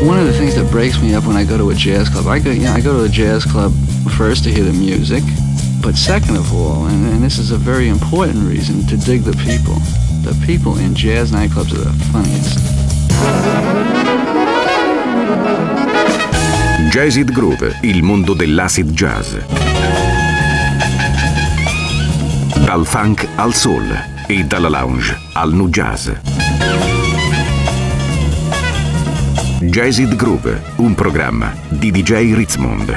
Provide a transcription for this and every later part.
One of the things that breaks me up when I go to a jazz club, I go to a jazz club first to hear the music, but second of all, and this is a very important reason, to dig the people. The people in jazz nightclubs are the funniest. Jazzid Groove, il mondo dell'acid jazz. Dal funk al soul e dalla lounge al nu jazz. Jazzid Groove, un programma di DJ Ritzmond.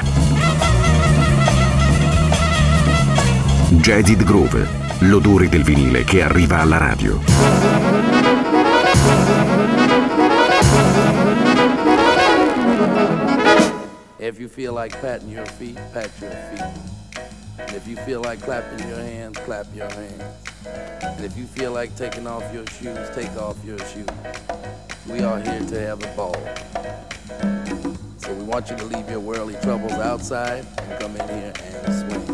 Jazzid Groove, l'odore del vinile che arriva alla radio. If you feel like patting your feet, pat your feet. And if you feel like clapping your hands, clap your hands. And if you feel like taking off your shoes, take off your shoes. We are here to have a ball. So we want you to leave your worldly troubles outside and come in here and swing.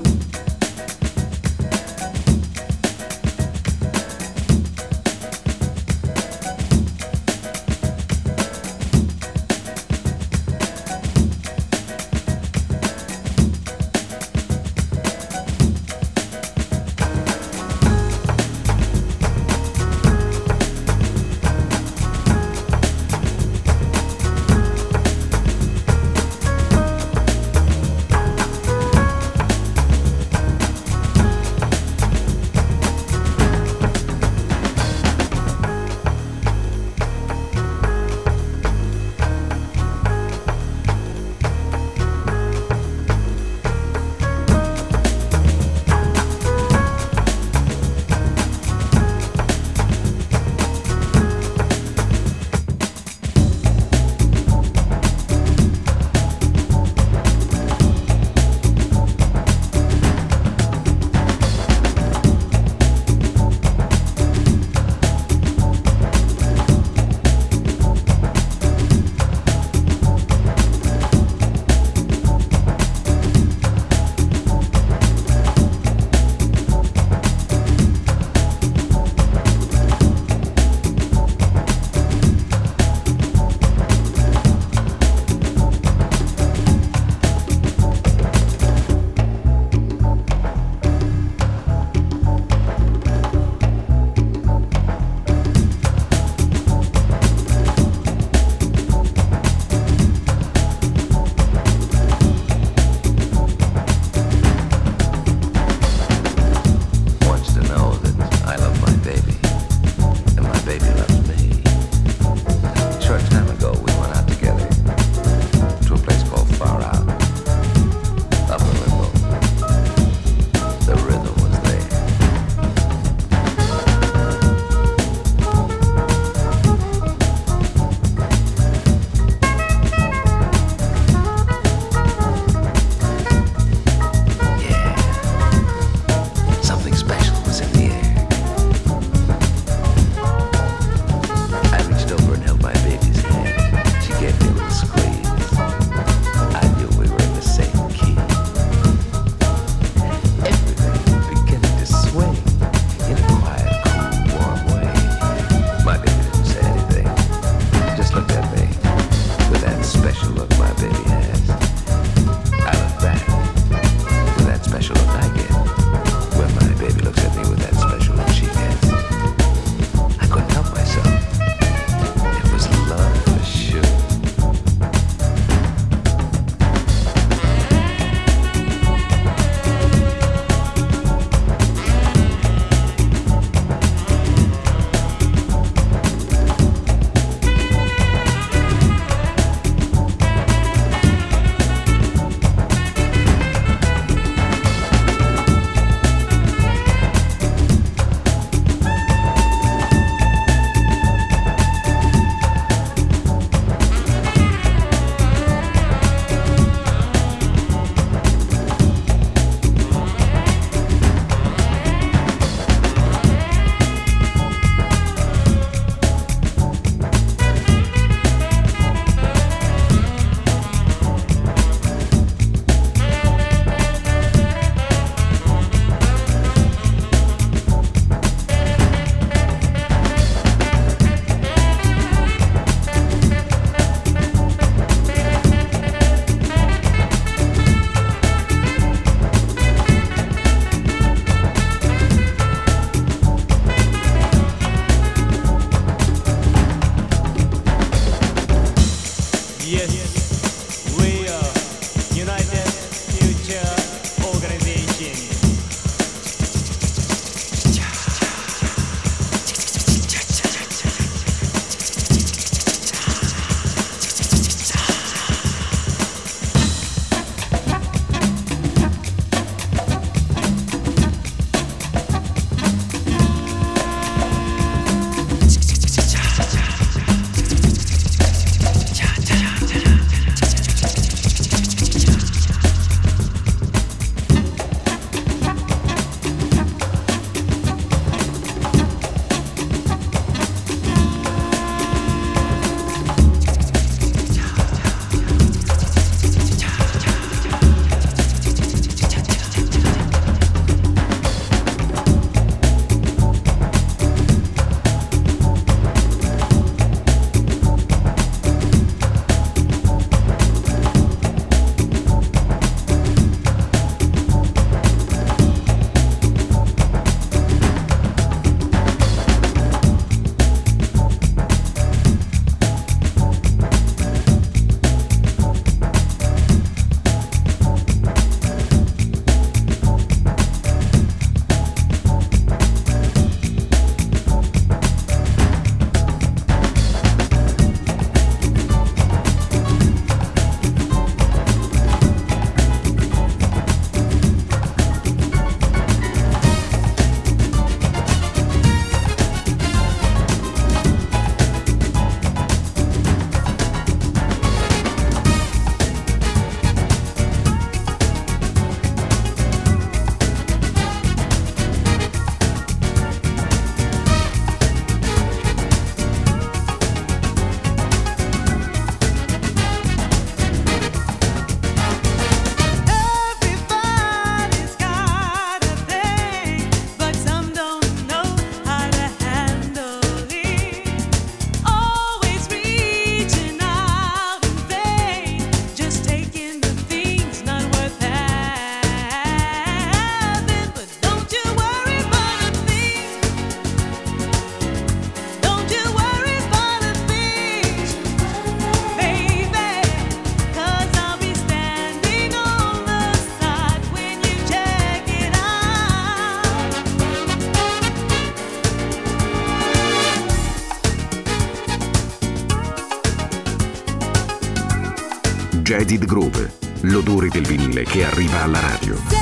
Jaded Groove, l'odore del vinile che arriva alla radio.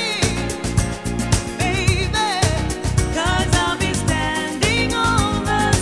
Standing on the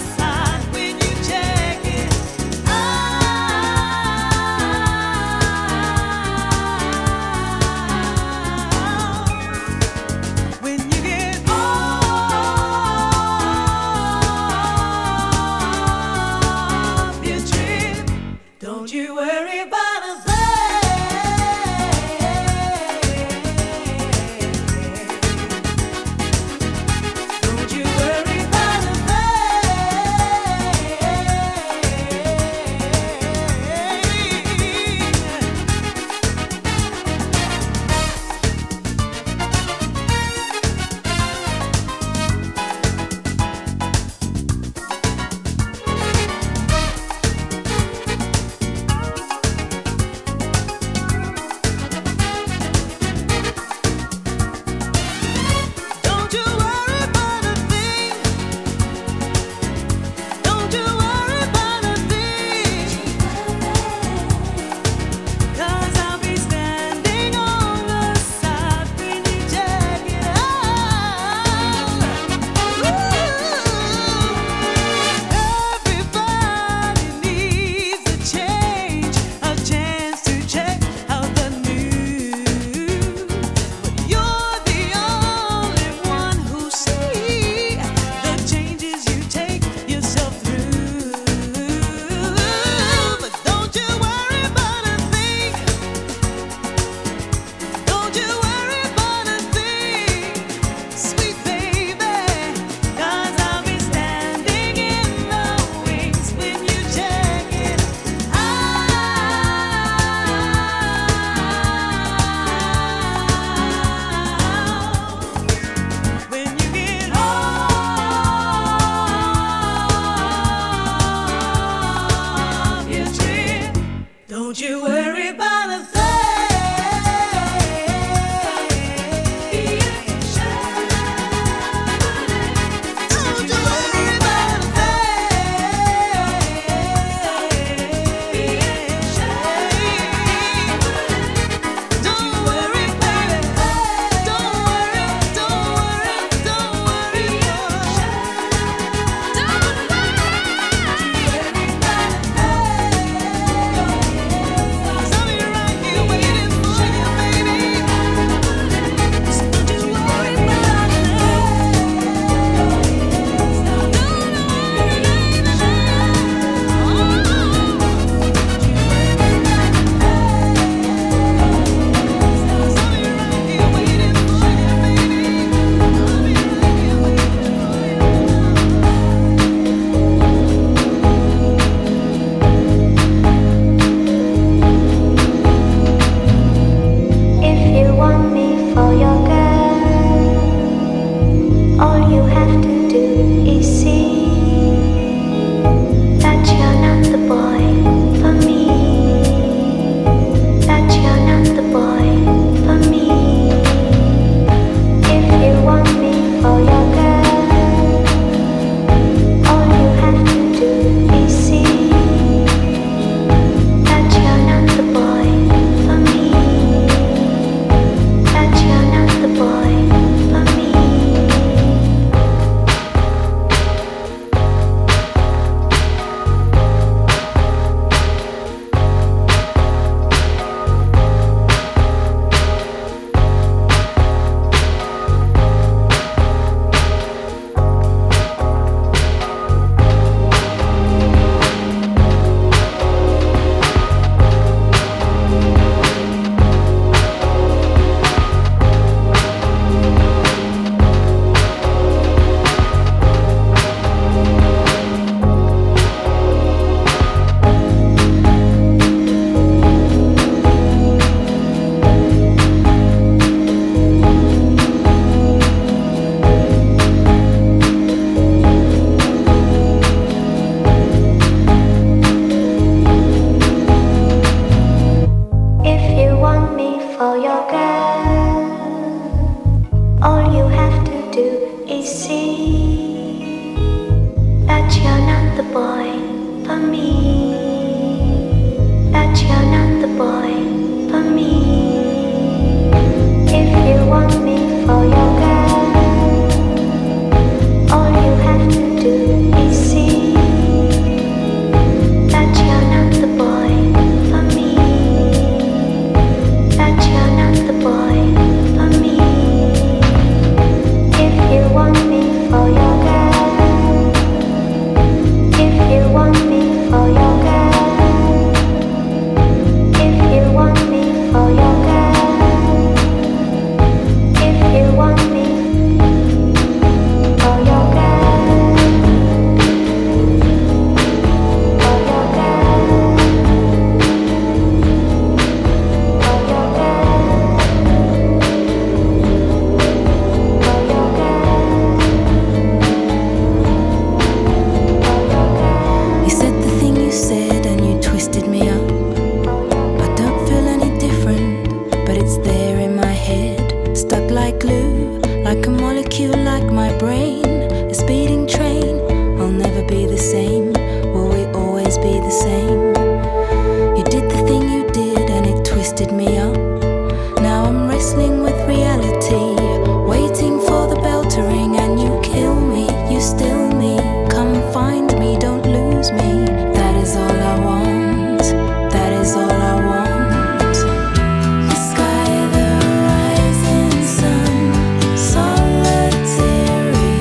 me up. Now I'm wrestling with reality, waiting for the bell to ring, and you kill me, you still me. Come find me, don't lose me. That is all I want, that is all I want. The sky, the rising sun, solitary,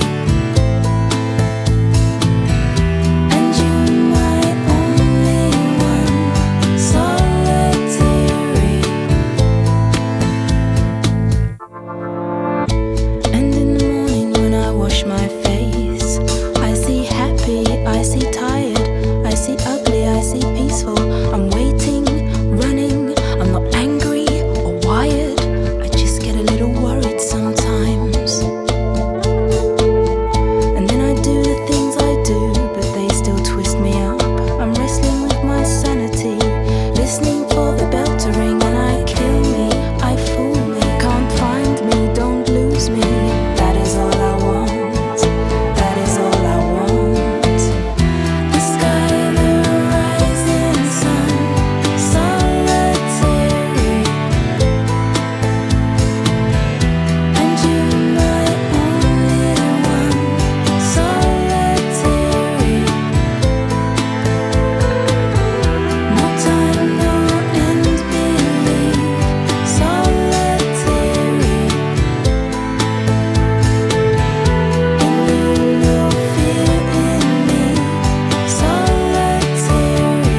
and you my only one, solitary. And in the morning when I wash my face, I see happy, I see tired, I see ugly, I see peaceful. I'm waiting, running, I'm not angry or wired, I just get a little worried sometimes. And then I do the things I do, but they still twist me up. I'm wrestling with my sanity, listening for the bell to ring, and I kill me, I fool me. Can't find me, don't lose me. That is all I want, that is all I want. The sky, the rising sun, solitary, and you my only one, solitary. No time, no end, believe, solitary. And you no fear in me, solitary.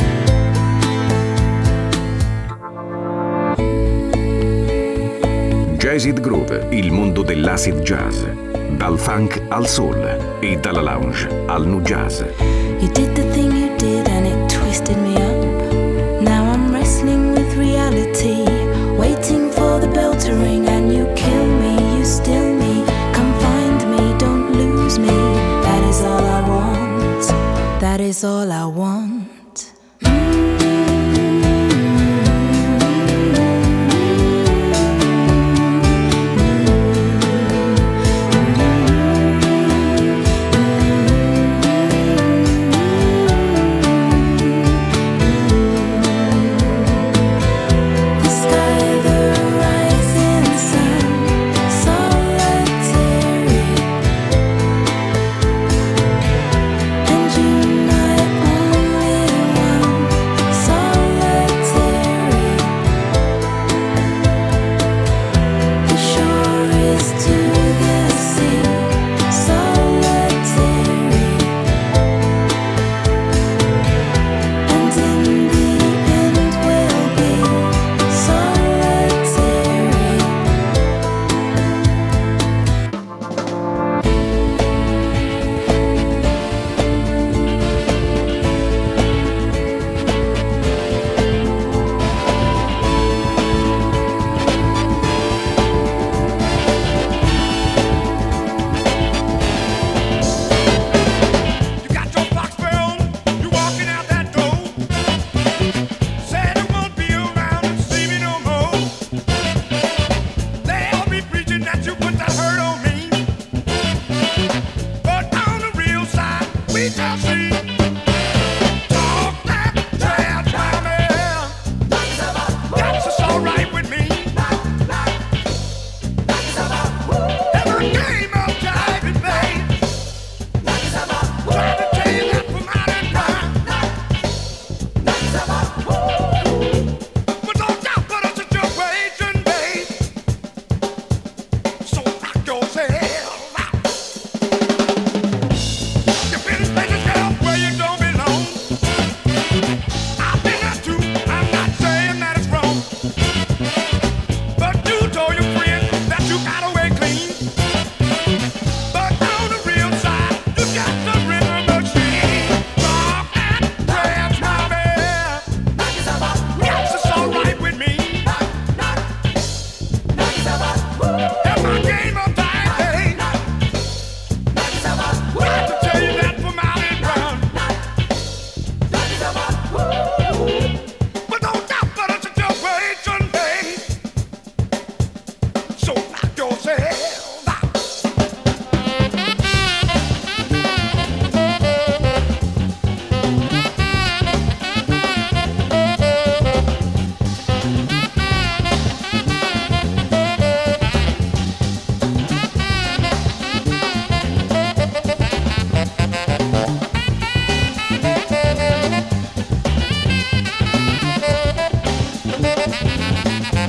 Jazzid Groove, il mondo dell'acid jazz. Dal funk al soul e dalla lounge al nu jazz. You did the thing you did and it twisted me up. Now I'm wrestling with reality, waiting for the bell to ring, and you kill me, you still me. Come find me, don't lose me. That is all I want, that is all I want.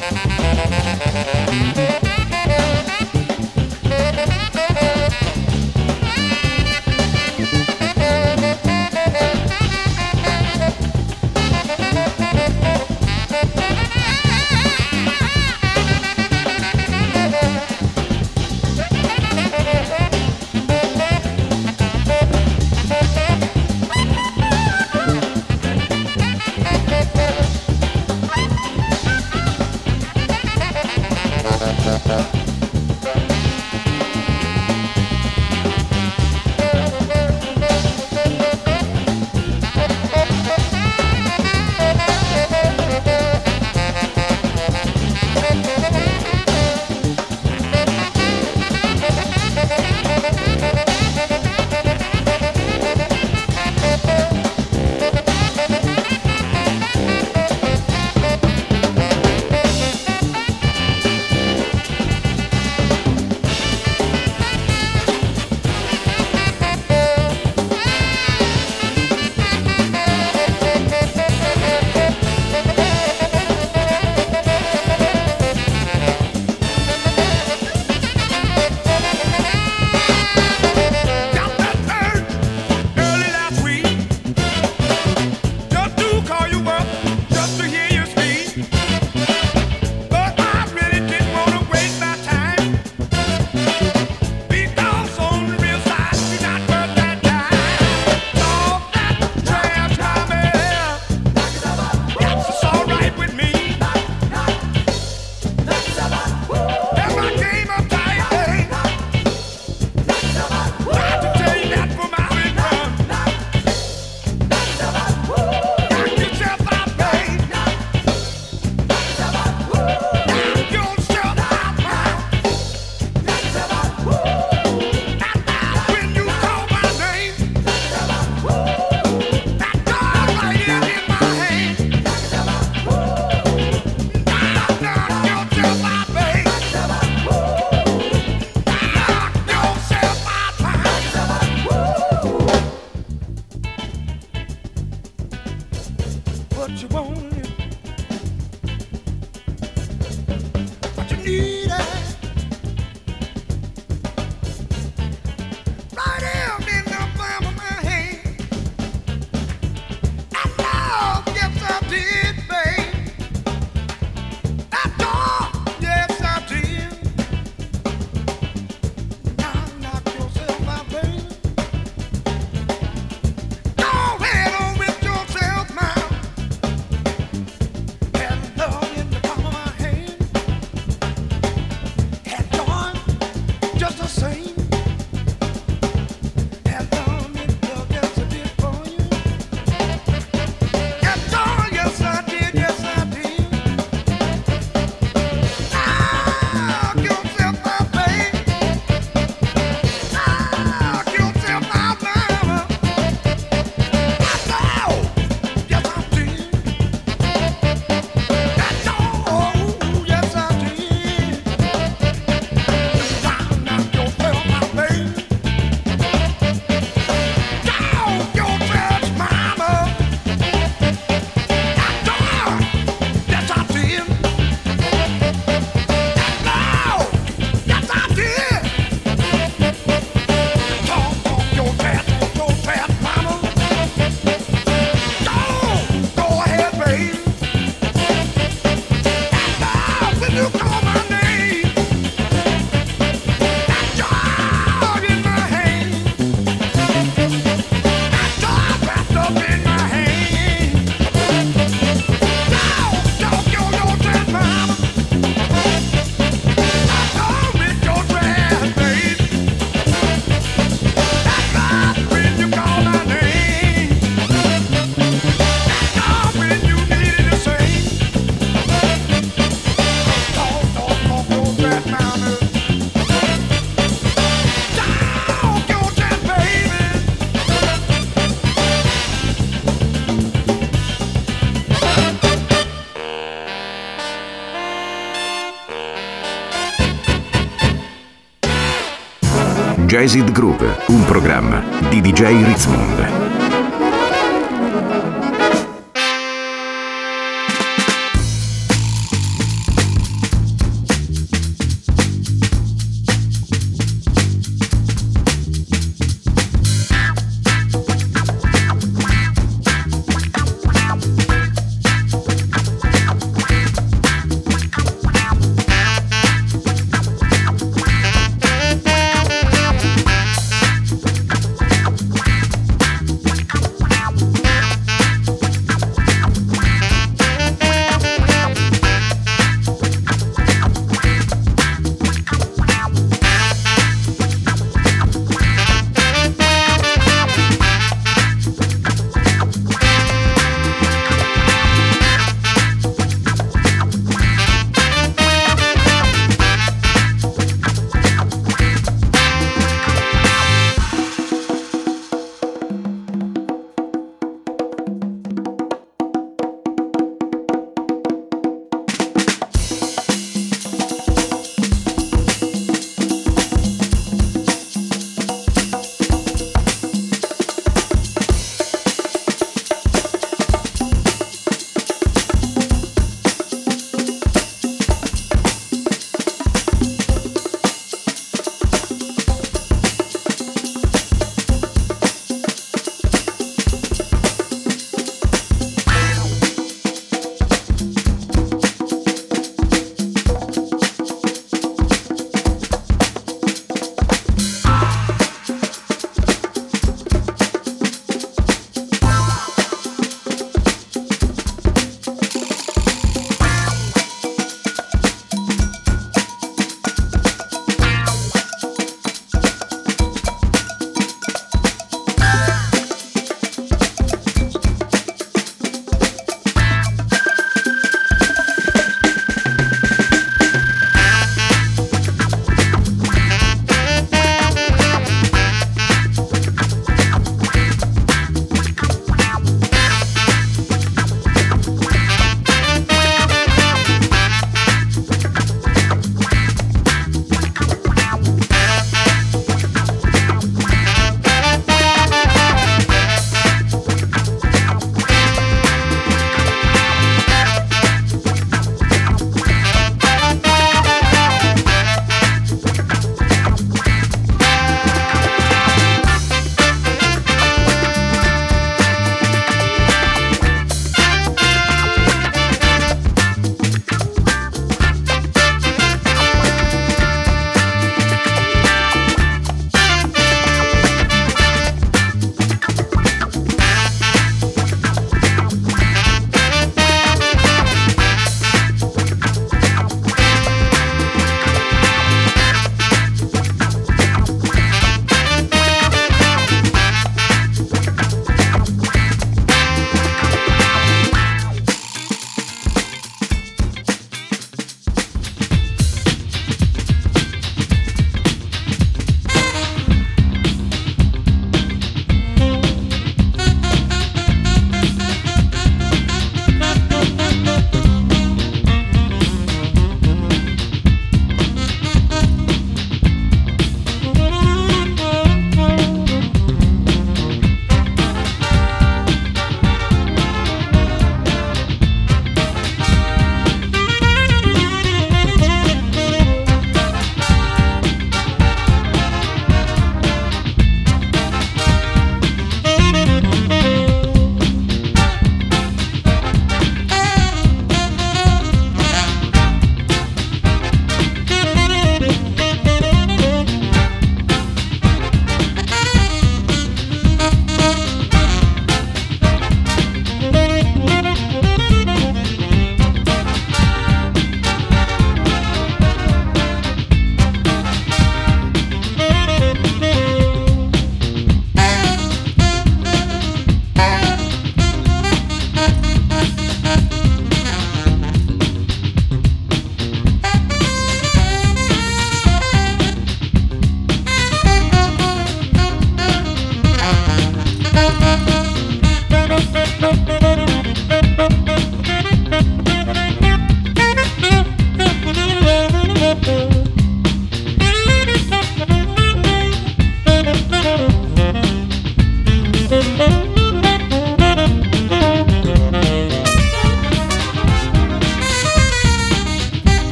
Jazzed Groove, un programma di DJ Ritzmond.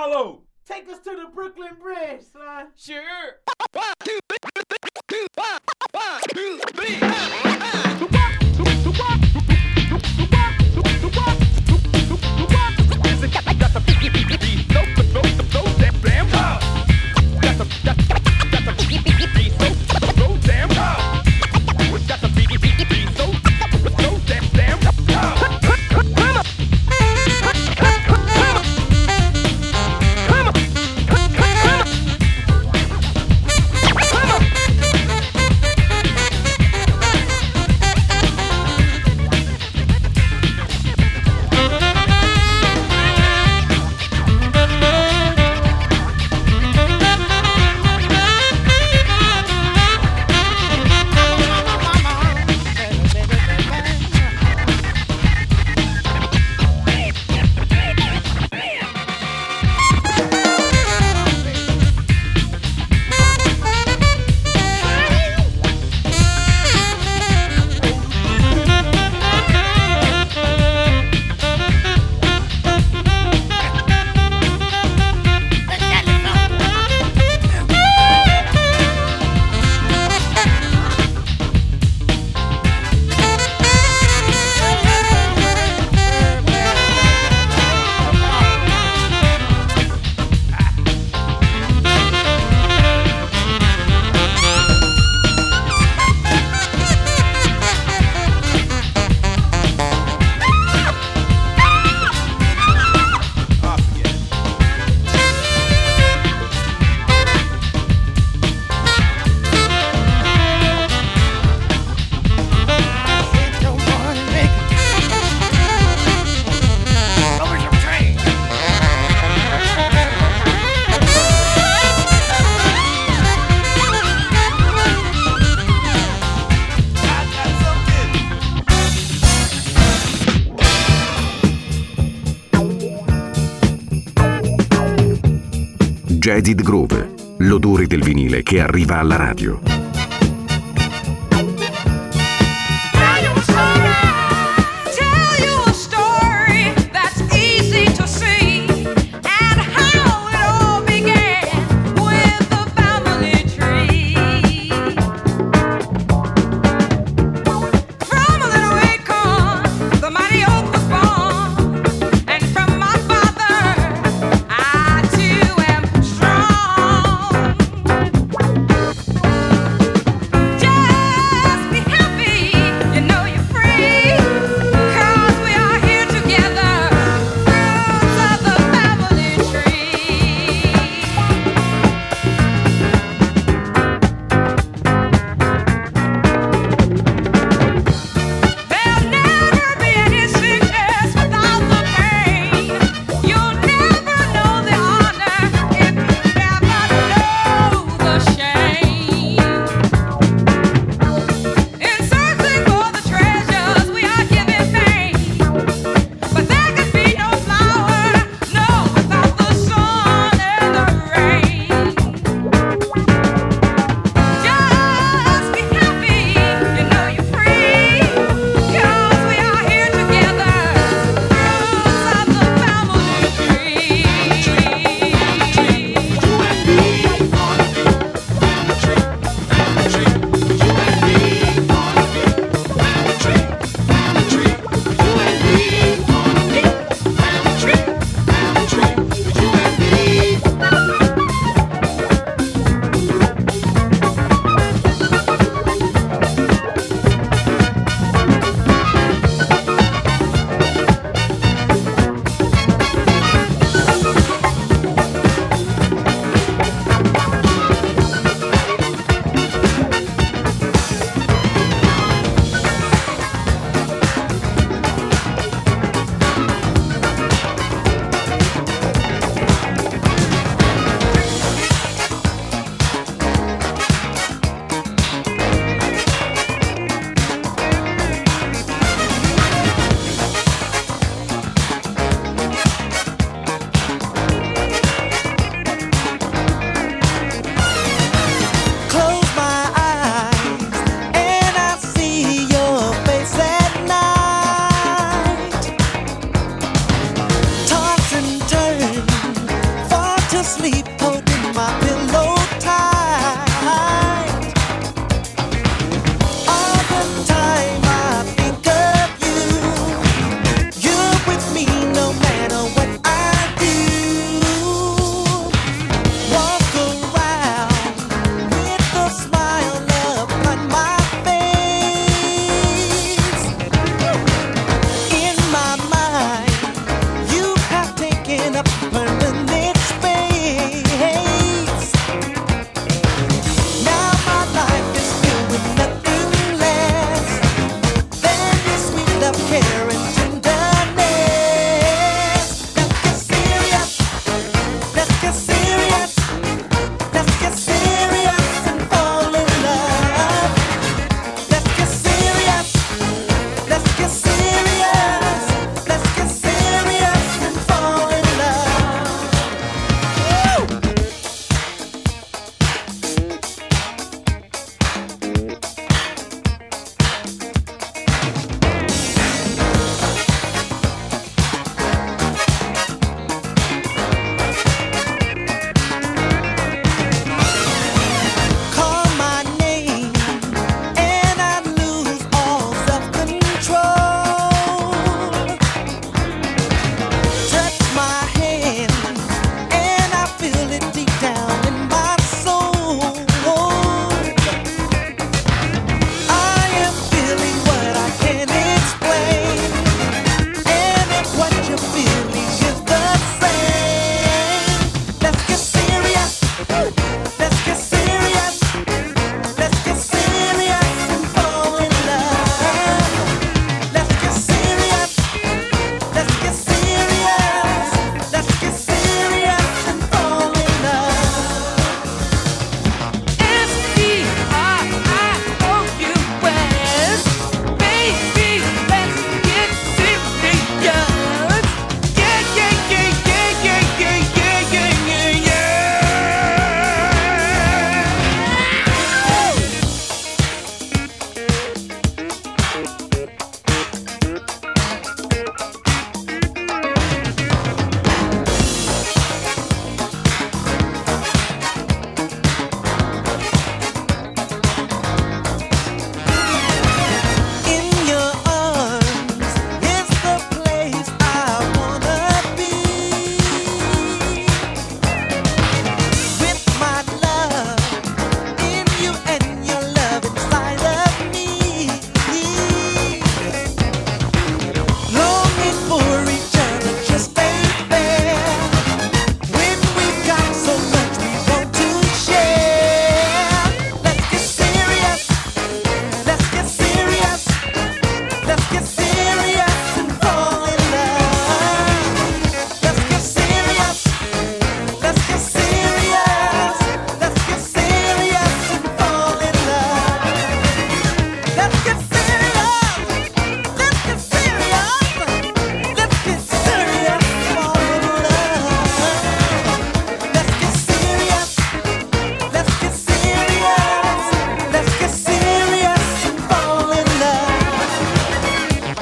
Marlo, take us to the Brooklyn Bridge, son. Sure. 1, 2, 3, 1, 2, 3. Jaded Groove, l'odore del vinile che arriva alla radio.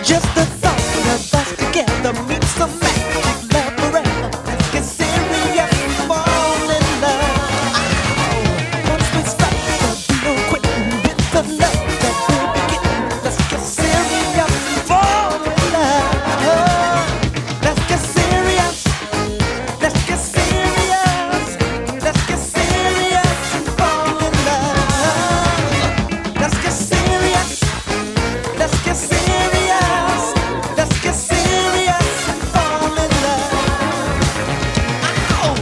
Just the thought of us together means some magic love forever. Let's get serious and fall in love. Once we start, there'll be no quitting with the love that we'll be getting. Let's get serious and fall in love. Let's get serious. Let's get serious. Let's get serious and fall in love. Let's get serious. Let's get serious. Let's get serious and fall in love. Oh,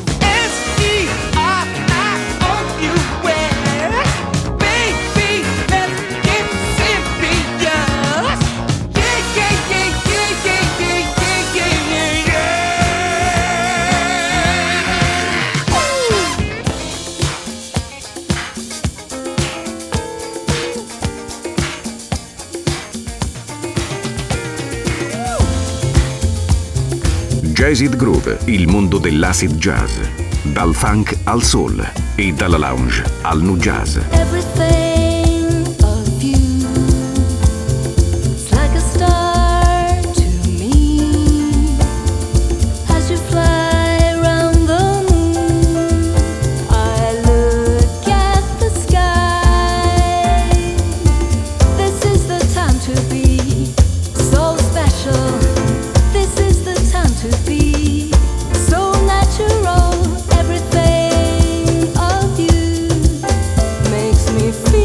S-E-R-I-O-U-S. Baby, let's get serious. Yeah, yeah, yeah, yeah, yeah, yeah, yeah, yeah, yeah. Jazz It Groove, il mondo dell'acid jazz. Dal funk al soul e dalla lounge al nu jazz. Everything of you is like a star to me. As you fly around the moon, I look at the sky. This is the time to be so special. This is the time to be so natural. Everything of you makes me feel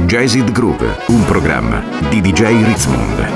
Jazzed Groove, un programma di DJ Ritzmond.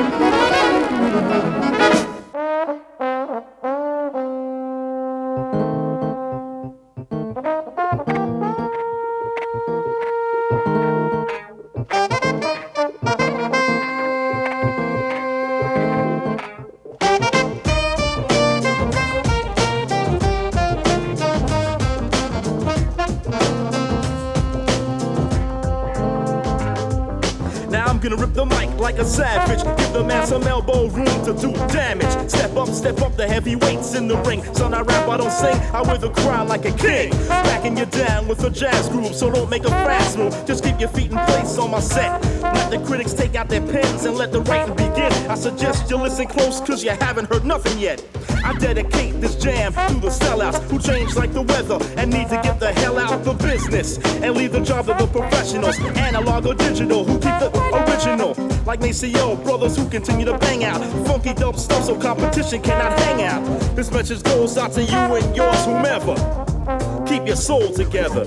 Like a savage, give the man some elbow room to do damage. Step up the heavyweights in the ring. Son, I rap, I don't sing, I wear the crown like a king. Backing you down with a jazz groove, so don't make a fast move. Just keep your feet in place on my set. Let the critics take out their pens and let the writing begin. I suggest you listen close, cause you haven't heard nothing yet. I dedicate this jam to the sellouts who change like the weather and need to get the hell out the business and leave the job to the professionals, analog or digital, who keep the original. Like Maceo, brothers who continue to bang out funky dope stuff so competition cannot hang out. This message goes out to you and yours, whomever. Keep your soul together.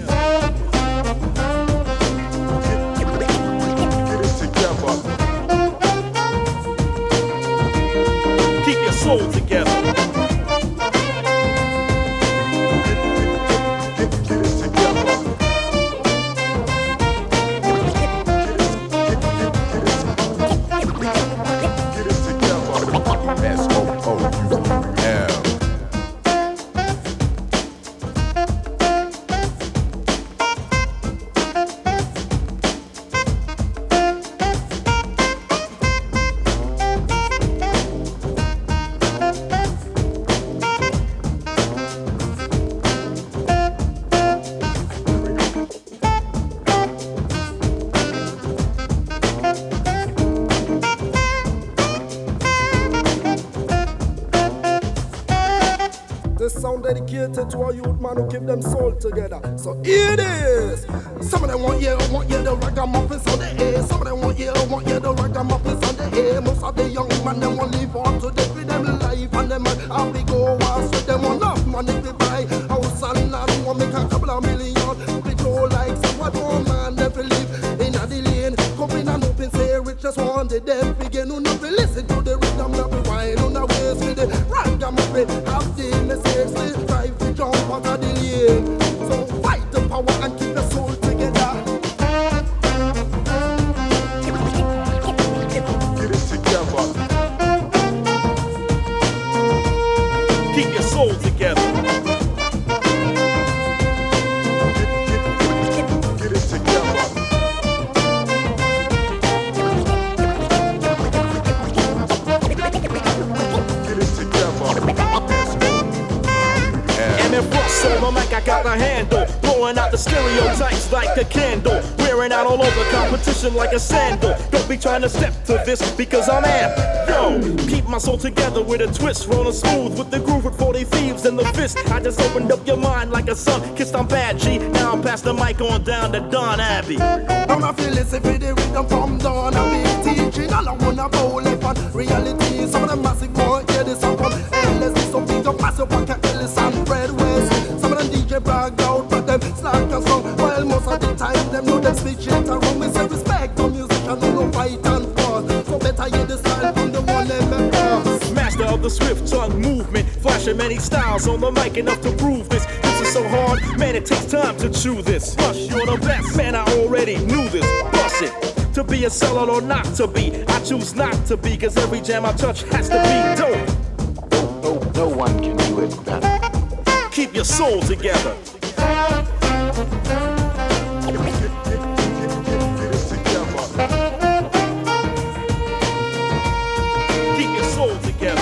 Keep your soul together. Dedicated to our youth man who keep them soul together. So here it is. Some of them want you the ragamuffins on the air. Some of them want you the ragamuffins on the air. Most of the young man them want live on to death with them life and them and we go once with them want enough money to buy house and land. Want make a couple of million. We go like some what one man never live in a lane. Come in and open say rich just want the death begin. Who not listen to the rhythm not be wine on the waist with the ragamuffin. Have the message. Drive to jump out of the lane. So fight the power and keep your soul together. Get it together. Keep your soul together. Get it together. Get it together. So the mic I got a handle, blowing out the stereotypes like a candle, wearing out all over competition like a sandal. Don't be trying to step to this because I'm amped. Yo, keep my soul together with a twist, rolling smooth with the groove with 40 thieves in the fist. I just opened up your mind like a sun kissed on bad G. Now I'm past the mic on down to Don Abbey. I'm a feeling if it rhythm from Don Abbey teaching. I don't wanna bowl it on reality. Some of the massive boy hear this song from LSD. Some things are massive like Ellis and Fred West. Some of them DJ brag out, but them slack a song. While most of the time them know them switch it around. We say respect to musician, no fight and fuss. So better hear the style from the one them across. Master of the swift tongue movement, flashing many styles on the mic enough to prove this. This is so hard, man, it takes time to chew this. Rush, you're the best, man, I already knew this. Bust it. To be a sellout or not to be, I choose not to be, cause every jam I touch has to be dope. No one can do it better. Keep your soul together. Keep your soul together.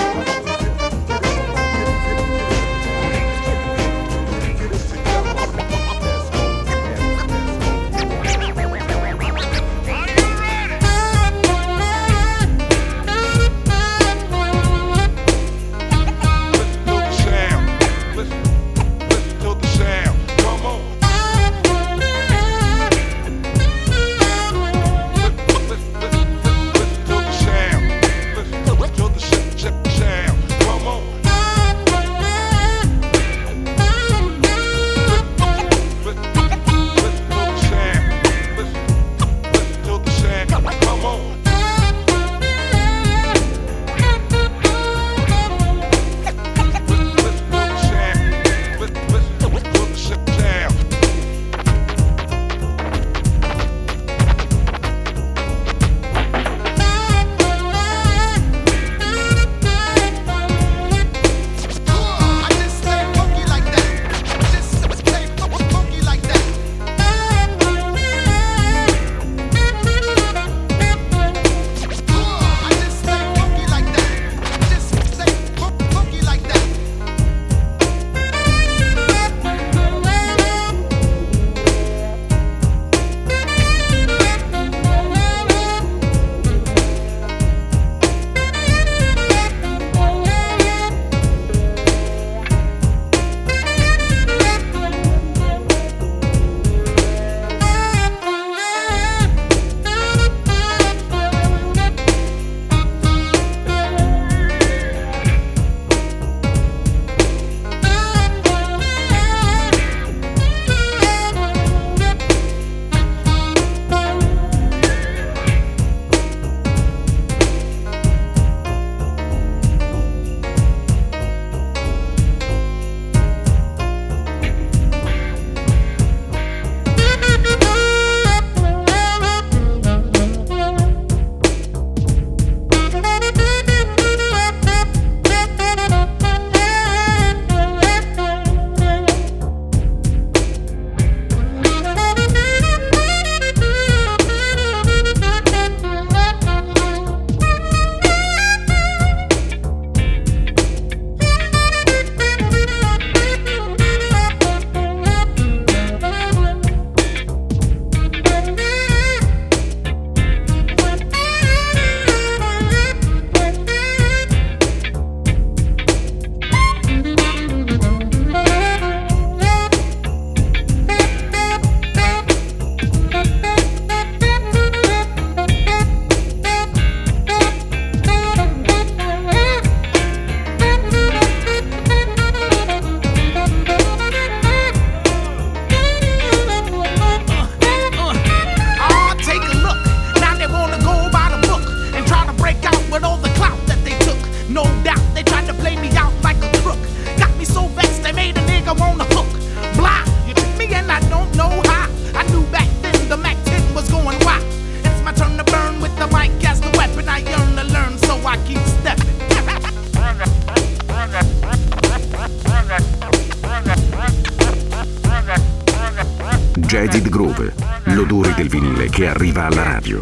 Groove, l'odore del vinile che arriva alla radio.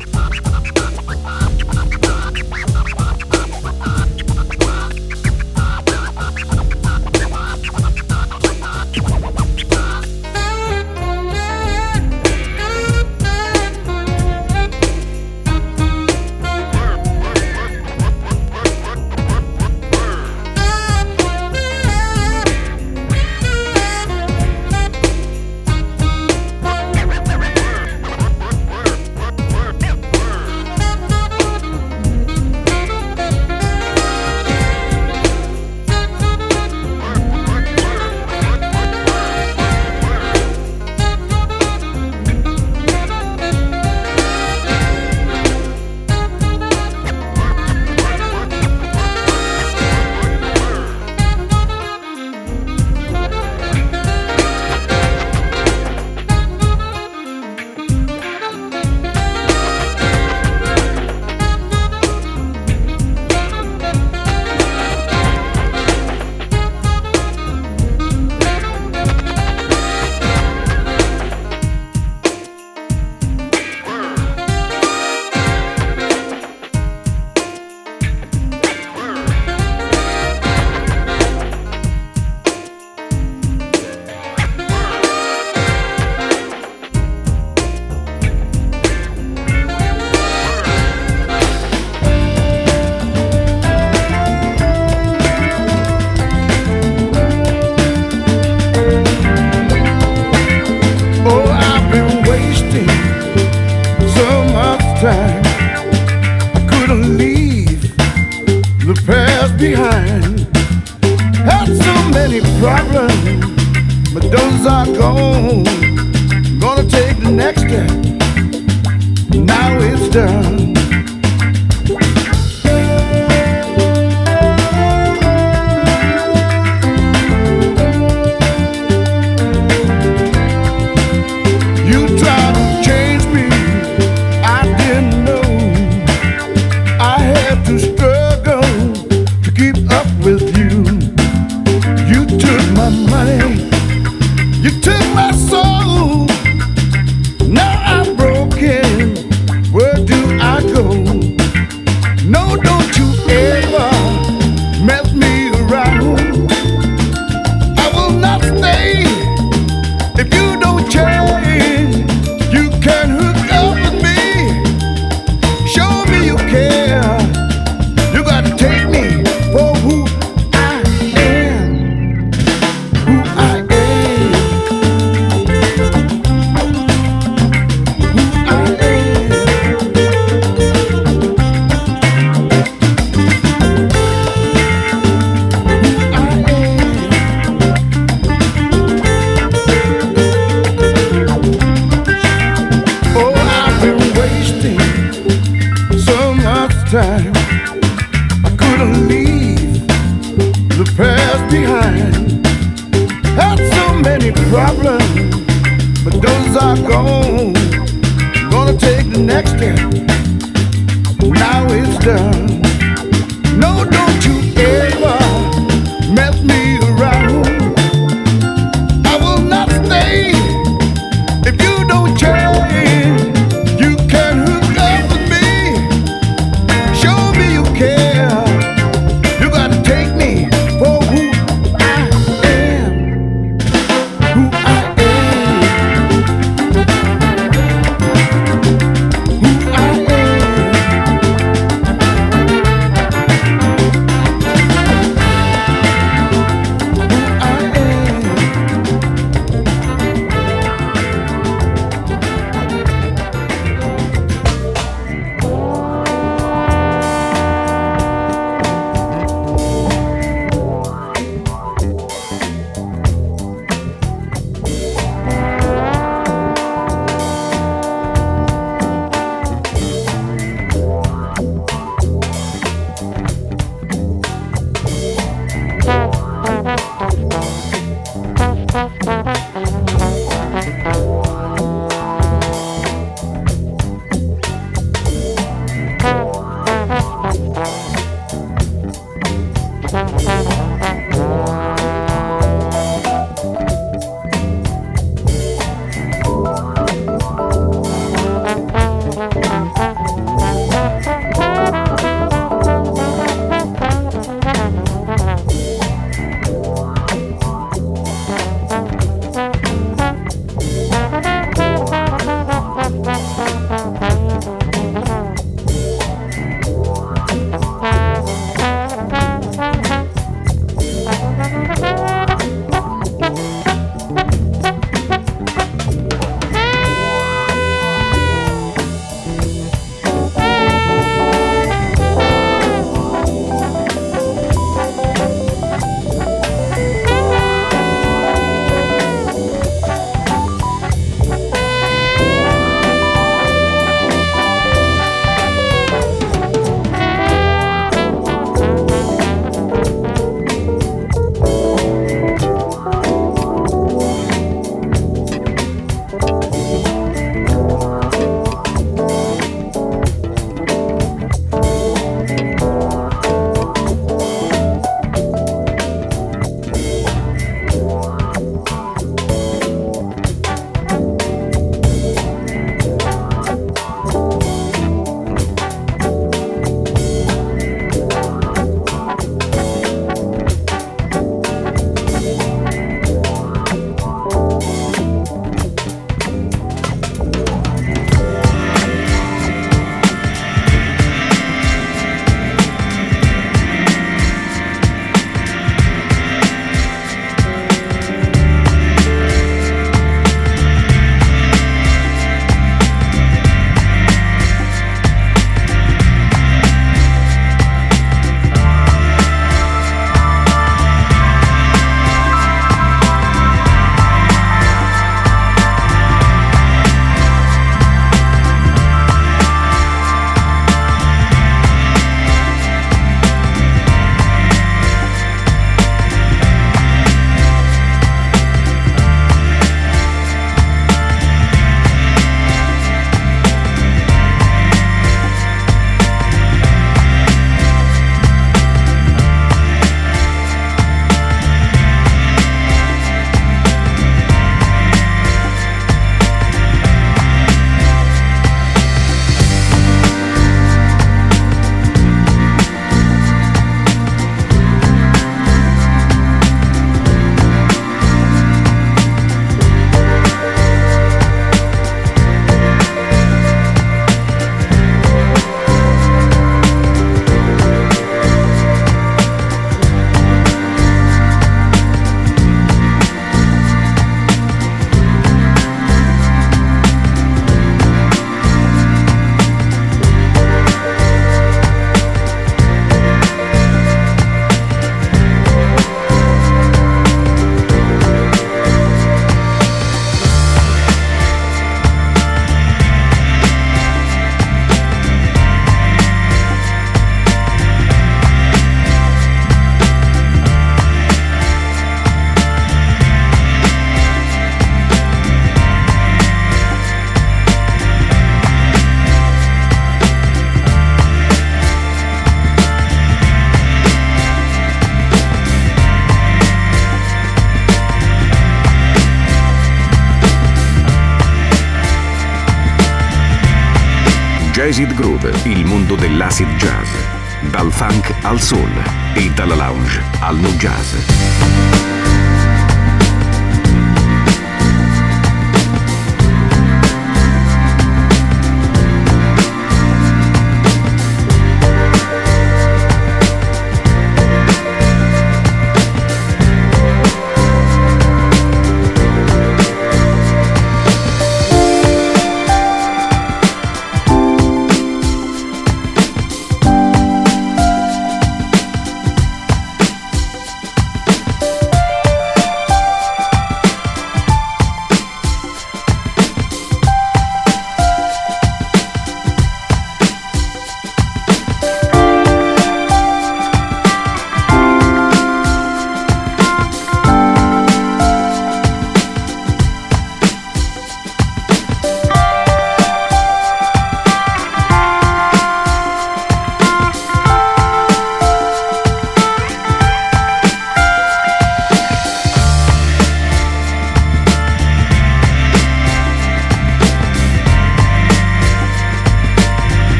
Jazzed Groove, il mondo dell'acid jazz. Dal funk al soul e dalla lounge al nu jazz.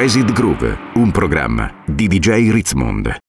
Jazzed Groove, un programma di DJ Ritzmond.